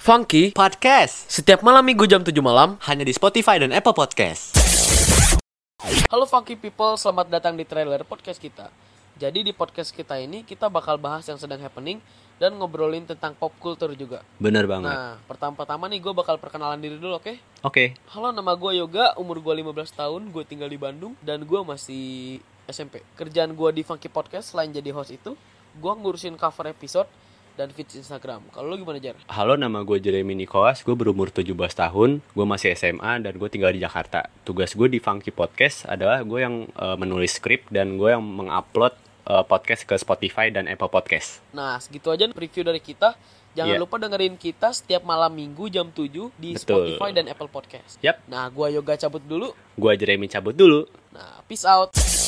Funky Podcast setiap malam minggu jam 7 malam. hanya di Spotify dan Apple Podcast. Halo Funky people, selamat datang di trailer podcast kita. Jadi di podcast kita ini kita bakal bahas yang sedang happening dan ngobrolin tentang pop culture juga. Bener banget. Nah, pertama-tama nih gue bakal perkenalan diri dulu, oke? Oke. Halo, nama gue Yoga, umur gue 15 tahun, gue tinggal di Bandung dan gue masih SMP. Kerjaan gue di Funky Podcast selain jadi host itu, gue ngurusin cover episode dan feeds Instagram. Kalau lu gimana, Jar? Halo, nama gue Jeremy Nicholas, gue berumur 17 tahun, gue masih SMA dan gue tinggal di Jakarta. Tugas gue di Funky Podcast adalah gue yang menulis skrip dan gue yang mengupload podcast ke Spotify dan Apple Podcast. Nah, segitu aja preview dari kita. Jangan Iya. lupa dengerin kita setiap malam minggu jam 7 di Betul. Spotify dan Apple Podcast. Yap, Nah, gua Yoga cabut dulu. gue Jeremy cabut dulu. Nah, peace out.